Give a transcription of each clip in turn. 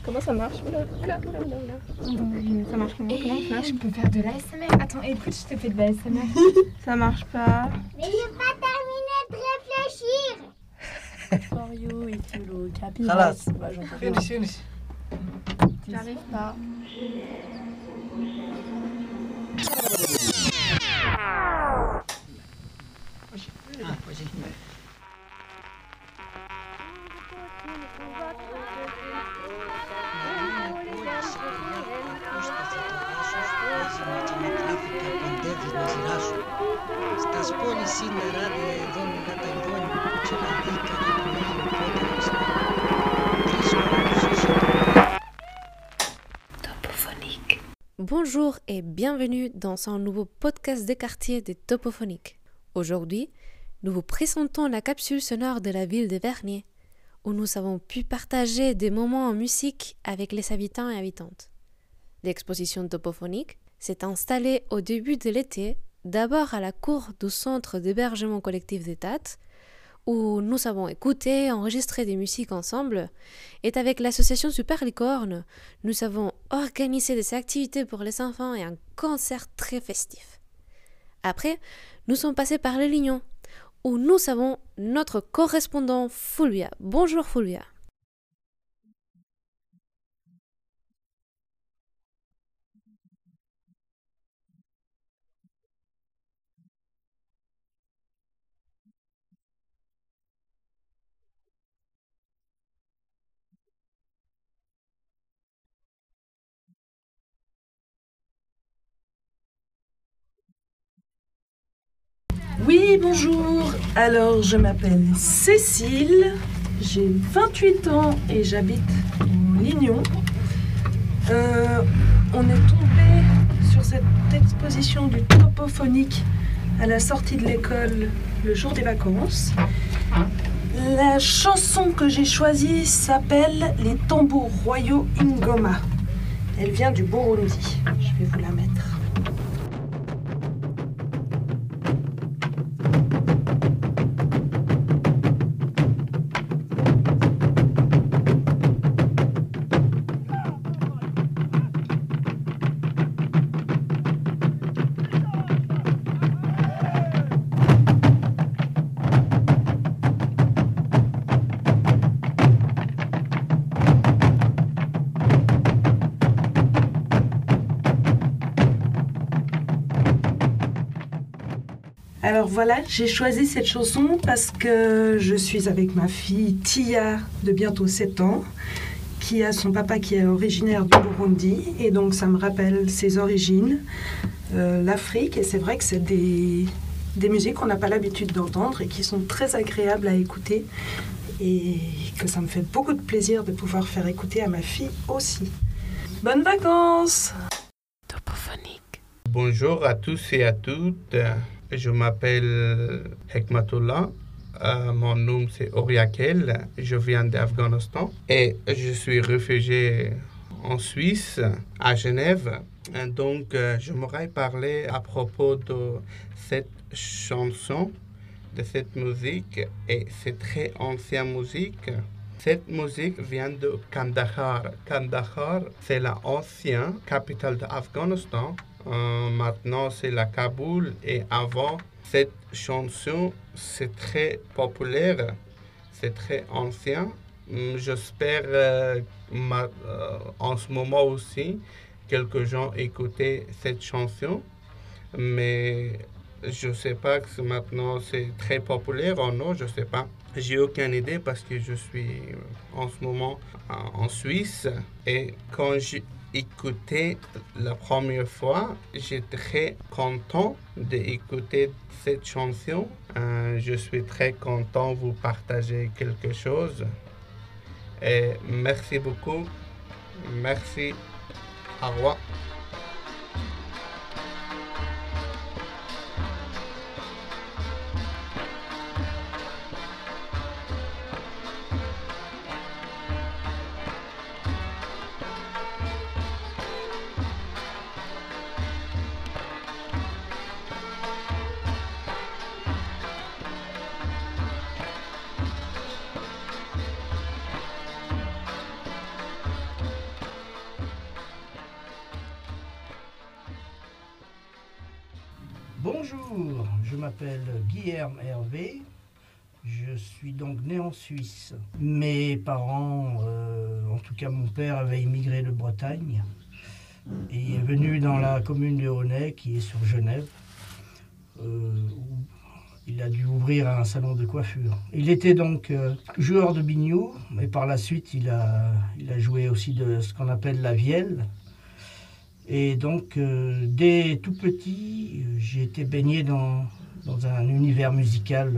Comment ça marche? Oula, oula, oula, oula, oula. Ça marche comment? Comment ça marche? Je peux faire de l'ASMR. Attends, écoute, je te fais de l'ASMR. Ça marche pas. Mais j'ai pas terminé de réfléchir. For you, if you look happy. خلاص Bah, j'en peux فينش فينش J'arrive pas. Στα σπόνη σήμερα εδώ με καταγγόνι και να δίκα και το μήνυμα Topophonique. Bonjour et bienvenue dans ce nouveau podcast des quartiers de Topophonique. Aujourd'hui, nous vous présentons la capsule sonore de la ville de Vernier, où nous avons pu partager des moments en musique avec les habitants et habitantes. L'exposition topophonique s'est installée au début de l'été, d'abord à la cour du centre d'hébergement collectif des Tates, où nous avons écouté et enregistré des musiques ensemble, et avec l'association Super Licorne, nous avons organisé des activités pour les enfants et un concert très festif. Après, nous sommes passés par le Lignon, où nous avons notre correspondant Fulvia. Bonjour Fulvia. Oui, bonjour. Alors, je m'appelle Cécile, j'ai 28 ans et j'habite au Lignon. On est tombé sur cette exposition du topophonique à la sortie de l'école le jour des vacances. La chanson que j'ai choisie s'appelle Les tambours royaux Ingoma. Elle vient du Burundi. Je vais vous la mettre. Alors voilà, j'ai choisi cette chanson parce que je suis avec ma fille Tia de bientôt 7 ans, qui a son papa qui est originaire du Burundi, et donc ça me rappelle ses origines, l'Afrique, et c'est vrai que c'est des musiques qu'on n'a pas l'habitude d'entendre et qui sont très agréables à écouter, et que ça me fait beaucoup de plaisir de pouvoir faire écouter à ma fille aussi. Bonnes vacances! Topophonique. Bonjour à tous et à toutes. Je m'appelle Hekmatullah. Mon nom c'est Oriakel. Je viens d'Afghanistan et je suis réfugié en Suisse, à Genève. Donc, je m'aurais parlé à propos de cette chanson, de cette musique, et c'est très ancienne musique. Cette musique vient de Kandahar. Kandahar, c'est l'ancienne capitale d'Afghanistan. Maintenant, c'est la Kaboul, et avant, cette chanson, c'est très populaire, c'est très ancien. J'espère en ce moment aussi, quelques gens écoutaient cette chanson, mais je ne sais pas que maintenant c'est très populaire ou non, je ne sais pas. J'ai aucune idée parce que je suis en ce moment en Suisse, et quand j'ai écouté la première fois, j'étais très content d'écouter cette chanson. Je suis très content de vous partager quelque chose. Et merci beaucoup. Merci. Au revoir. Bonjour, je m'appelle Guilherme Hervé. Je suis donc né en Suisse. Mes parents, en tout cas mon père, avait immigré de Bretagne et est venu dans la commune de Honnay, qui est sur Genève, où il a dû ouvrir un salon de coiffure. Il était donc joueur de biniou, mais par la suite il a joué aussi de ce qu'on appelle la vielle. Et donc dès tout petit, j'ai été baigné dans un univers musical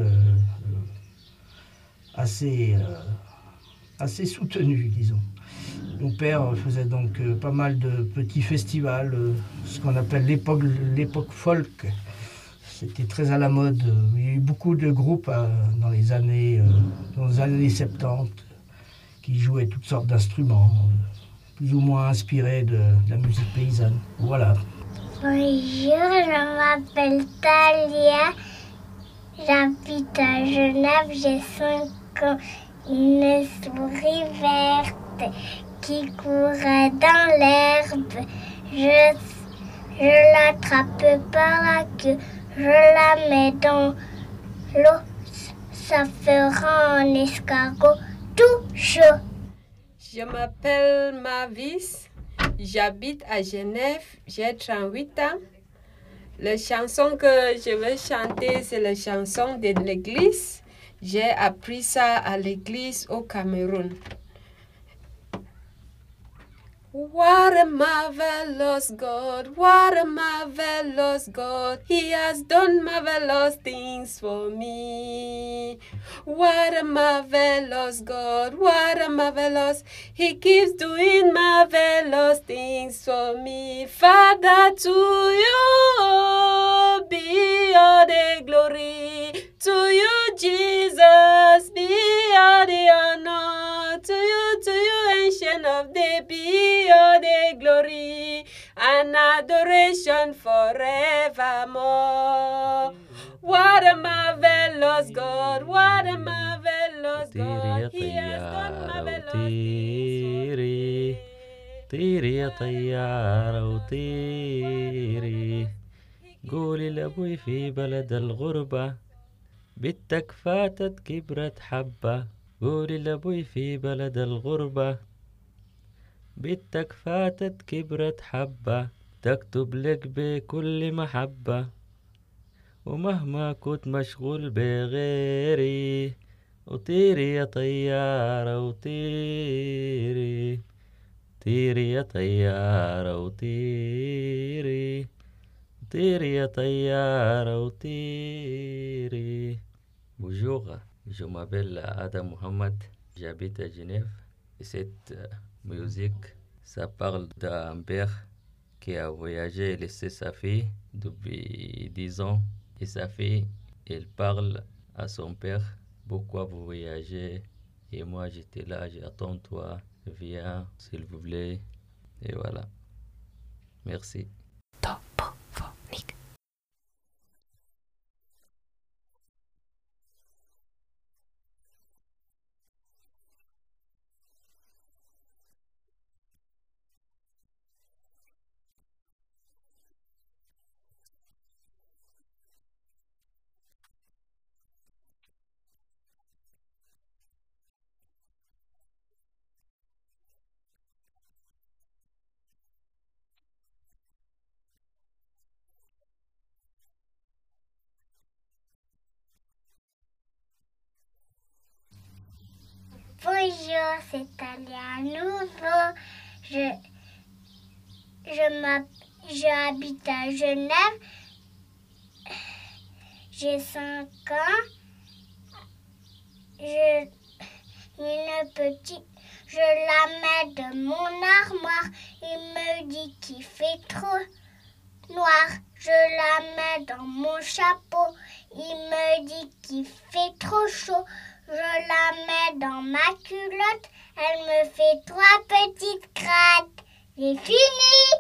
assez soutenu, disons. Mon père faisait donc pas mal de petits festivals, ce qu'on appelle l'époque folk. C'était très à la mode. Il y a eu beaucoup de groupes dans les années 70 qui jouaient toutes sortes d'instruments, plus ou moins inspirés de la musique paysanne. Voilà. Bonjour, je m'appelle Talia. J'habite à Genève, j'ai 5 ans. Une souris verte qui courait dans l'herbe. Je l'attrape par la queue, je la mets dans l'eau. Ça fera un escargot tout chaud. Je m'appelle Mavis, j'habite à Genève, j'ai 38 ans. La chanson que je vais chanter, c'est la chanson de l'église. J'ai appris ça à l'église au Cameroun. What a marvelous God, what a marvelous God. He has done marvelous things for me. What a marvelous God, what a marvelous. He keeps doing marvelous things for me. Father, to you be all the glory. To you, Jesus, be all the honor. To you, Ancient of Days, be all the glory and adoration forevermore. What a marvelous God, what a marvelous God. He has done marvelous things for me. طيري يا طيارة وطيري، قولي لأبوي في بلد الغربة بنتك فاتت كبرت حبة. قولي لأبوي في بلد الغربة بنتك فاتت كبرت حبة، تكتب لك بكل محبة ومهما كنت مشغول بغيري. وطيري يا طيارة وطيري، طيري يا طيارة وطيري، طيري يا طيارة وطيري. Bonjour, je m'appelle Adam Mohamed, j'habite à Genève. Et cette musique, ça parle d'un père qui a voyagé et laissé sa fille depuis 10 ans. Et sa fille, elle parle à son père, pourquoi vous voyagez? Et moi j'étais là, j'attends toi, viens s'il vous plaît. Et voilà. Merci. Topophonique. Bonjour, c'est Talia à nouveau. Je habite à Genève. J'ai 5 ans. Une petite, je la mets de mon armoire. Il me dit qu'il fait trop noir. Je la mets dans mon chapeau. Il me dit qu'il fait trop chaud. Je la mets dans ma culotte. Elle me fait 3 petites craques. C'est fini!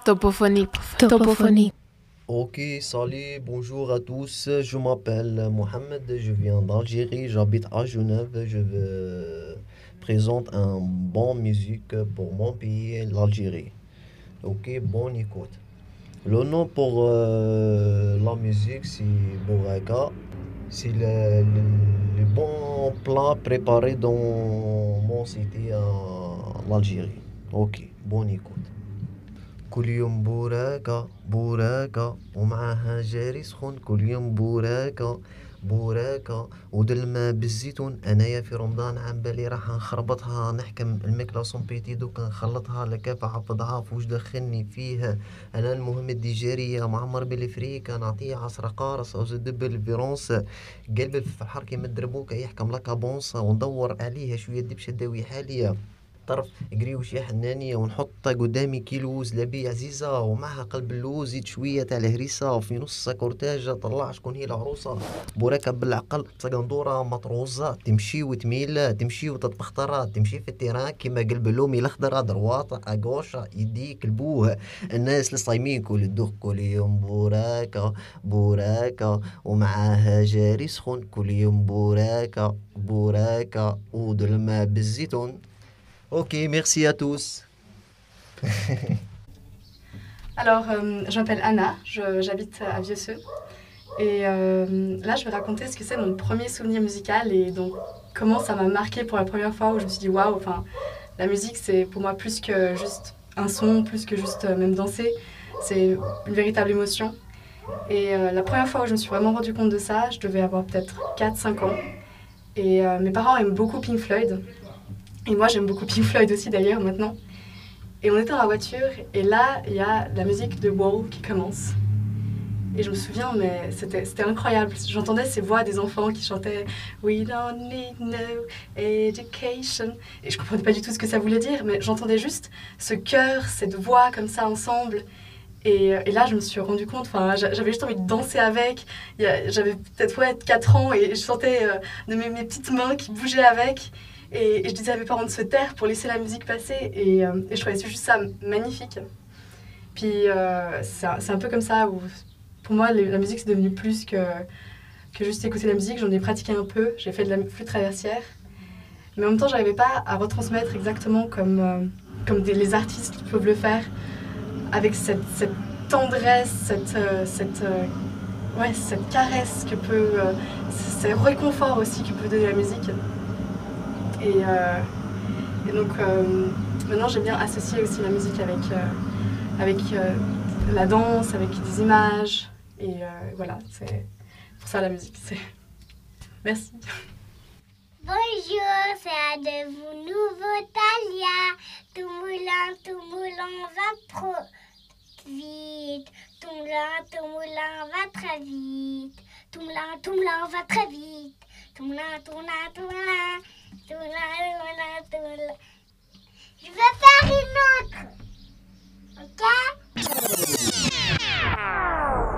Topophonique. Topophonique. Ok, salut, bonjour à tous. Je m'appelle Mohamed, je viens d'Algérie, j'habite à Genève. Je présente un bon musique pour mon pays, l'Algérie. Ok, bonne écoute. Le nom pour la musique, c'est Bouraka. C'est le bon plat préparé dans mon cité en Algérie. Ok, bonne écoute. كل يوم بوراكة بوراكة ومعها جاري سخون كل يوم بوراكة بوراكة ودل ما بالزيتون انايا في رمضان عم بالي راح نخربطها نحكم الماكلة سون بيتي دوك نخلطها لكافة حفظها فوش دخلني فيها انا المهم الديجارية معمر بالفريكة نعطيه عصرة قارصة وزدب الفيرونس قلب الفحر كيما الدربوكة يحكم لك بونصة وندور عليها شوية دبشة داوي حالية طرف قريوش يا حنانية ونحط قدامي كيلو زلابية عزيزة ومعها قلب اللوز زيد شوية تاع الهريسة وفي نص كورتاج طلع شكون هي العروسة بوراكة بالعقل سقندورة مطروزة تمشي وتميل تمشي وتتبخترة تمشي في التيران كيما قلب اللومي الأخضر درواطة أقوشة يديك البوه الناس الصايمين كل الدوخ كل يوم بوراكة بوراكة ومعها جاري سخون كل يوم بوراكة بوراكة ودل الماء بالزيتون. Ok, merci à tous. Alors, je m'appelle Anna, j'habite à Vieux-Seux. Et là, je vais raconter ce que c'est mon premier souvenir musical et donc comment ça m'a marqué pour la première fois où je me suis dit waouh, enfin, la musique c'est pour moi plus que juste un son, plus que juste même danser, c'est une véritable émotion. Et la première fois où je me suis vraiment rendu compte de ça, je devais avoir peut-être 4-5 ans. Et mes parents aiment beaucoup Pink Floyd. Et moi j'aime beaucoup Pink Floyd aussi d'ailleurs maintenant. Et on était dans la voiture et là il y a la musique de Wall qui commence. Et je me souviens, mais c'était incroyable. J'entendais ces voix des enfants qui chantaient We don't need no education. Et je comprenais pas du tout ce que ça voulait dire, mais j'entendais juste ce chœur, cette voix comme ça ensemble. Et là je me suis rendu compte, j'avais juste envie de danser avec. J'avais peut-être 4 ans et je sentais de mes petites mains qui bougeaient avec. Et je disais à mes parents de se taire pour laisser la musique passer. Et je trouvais juste ça magnifique. Puis c'est un peu comme ça où, pour moi, la musique c'est devenu plus que juste écouter la musique. J'en ai pratiqué un peu, j'ai fait de la flûte traversière. Mais en même temps, je n'arrivais pas à retransmettre exactement comme les artistes peuvent le faire. Avec cette tendresse, cette caresse que peut, ce réconfort aussi que peut donner la musique. Et donc maintenant j'aime bien associer aussi la musique avec la danse, avec des images. Et voilà, c'est pour ça la musique. Merci. Bonjour, c'est un de vous nouveau Talia. Tout moulin va trop vite. Tout moulin va très vite. Tout moulin va très vite. Tout moulin. Je vais faire une autre. Ok?